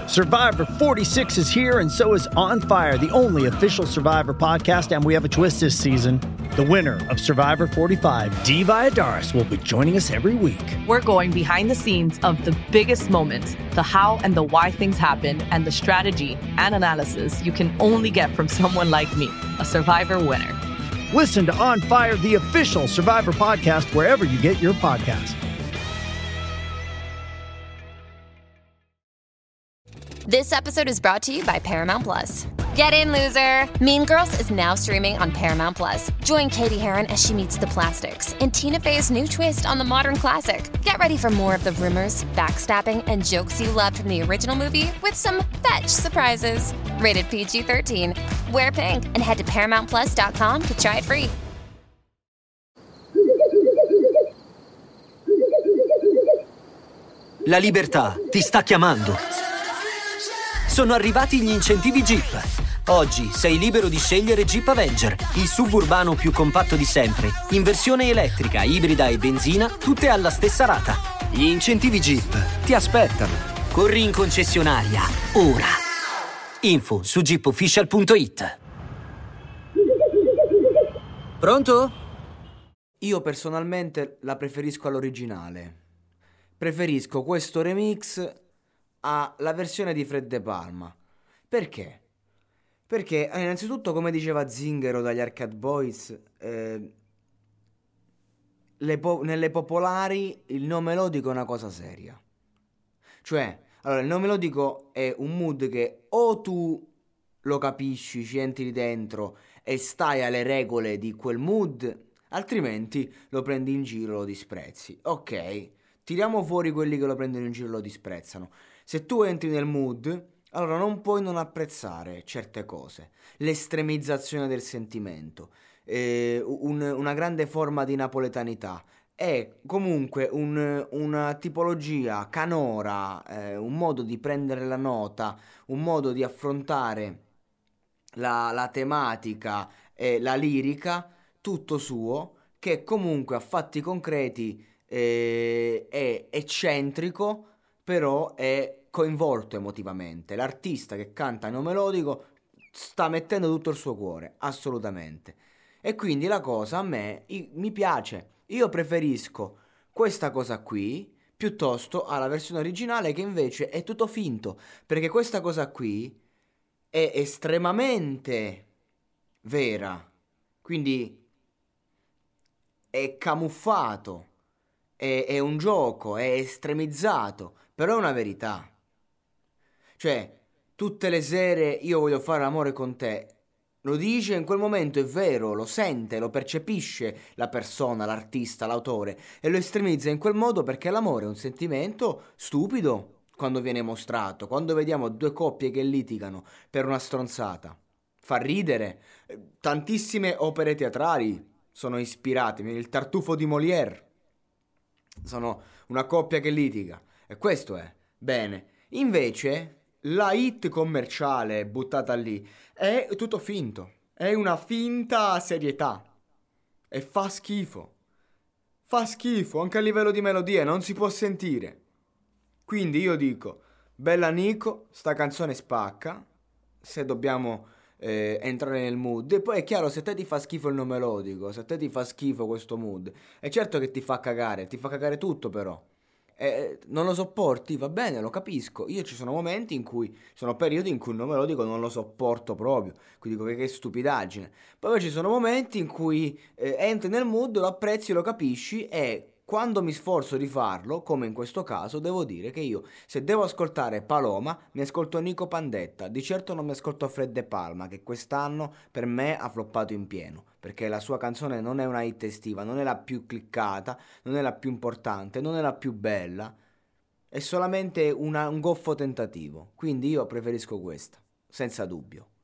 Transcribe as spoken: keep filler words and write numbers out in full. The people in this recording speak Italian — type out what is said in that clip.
Survivor forty-six is here, and so is On Fire, the only official Survivor podcast, and we have a twist this season. The winner of Survivor forty-five, Dee Valladares, will be joining us every week. We're going behind the scenes of the biggest moments, the how and the why things happen, and the strategy and analysis you can only get from someone like me, a Survivor winner. Listen to On Fire, the official Survivor podcast, wherever you get your podcasts. This episode is brought to you by Paramount Plus. Get in, loser! Mean Girls is now streaming on Paramount Plus. Join Katie Heron as she meets the plastics in Tina Fey's new twist on the modern classic. Get ready for more of the rumors, backstabbing, and jokes you loved from the original movie with some fetch surprises. Rated P G thirteen. Wear pink and head to paramount plus dot com to try it free. La libertà ti sta chiamando. Sono arrivati gli incentivi Jeep. Oggi sei libero di scegliere Jeep Avenger, il suburbano più compatto di sempre, in versione elettrica, ibrida e benzina, tutte alla stessa rata. Gli incentivi Jeep ti aspettano. Corri in concessionaria, ora. Info su jeep official punto it. Pronto? Io personalmente la preferisco all'originale. Preferisco questo remix alla versione di Fred De Palma. Perché? Perché eh, innanzitutto, come diceva Zingaro dagli Arcade Boys, eh, le po- nelle popolari il no melodico è una cosa seria. Cioè, allora, il no melodico è un mood che o tu lo capisci, ci entri lì dentro e stai alle regole di quel mood, altrimenti lo prendi in giro, lo disprezzi. Ok, tiriamo fuori quelli che lo prendono in giro e lo disprezzano. Se tu entri nel mood, allora non puoi non apprezzare certe cose. L'estremizzazione del sentimento, eh, un, una grande forma di napoletanità, è comunque un, una tipologia canora, eh, un modo di prendere la nota, un modo di affrontare la, la tematica e la lirica, tutto suo, che comunque a fatti concreti eh, è eccentrico, però è coinvolto emotivamente. L'artista che canta no melodico sta mettendo tutto il suo cuore, assolutamente. E quindi la cosa a me i, mi piace. Io preferisco questa cosa qui piuttosto alla versione originale, che invece è tutto finto, perché questa cosa qui è estremamente vera, quindi è camuffato, è, è un gioco, è estremizzato, però è una verità. Cioè, tutte le sere io voglio fare l'amore con te, lo dice in quel momento, è vero, lo sente, lo percepisce la persona, l'artista, l'autore, e lo estremizza in quel modo perché l'amore è un sentimento stupido quando viene mostrato, quando vediamo due coppie che litigano per una stronzata. Fa ridere. Tantissime opere teatrali sono ispirate, il Tartufo di Molière, sono una coppia che litiga, e questo è bene. Invece la hit commerciale buttata lì è tutto finto, è una finta serietà e fa schifo, fa schifo anche a livello di melodie, non si può sentire. Quindi io dico, bella Nico, sta canzone spacca, se dobbiamo eh, entrare nel mood. E poi è chiaro, se a te ti fa schifo il non melodico, se a te ti fa schifo questo mood, è certo che ti fa cagare, ti fa cagare tutto però. Eh, non lo sopporti, va bene, lo capisco. Io ci sono momenti in cui, sono periodi in cui il non melodico non lo sopporto proprio, quindi dico che, che stupidaggine. Poi ci sono momenti in cui eh, entri nel mood, lo apprezzi, lo capisci, e quando mi sforzo di farlo, come in questo caso, devo dire che io, se devo ascoltare Paloma, mi ascolto Nico Pandetta. Di certo non mi ascolto Fred De Palma, che quest'anno per me ha floppato in pieno, perché la sua canzone non è una hit estiva, non è la più cliccata, non è la più importante, non è la più bella, è solamente una, un goffo tentativo. Quindi io preferisco questa, senza dubbio.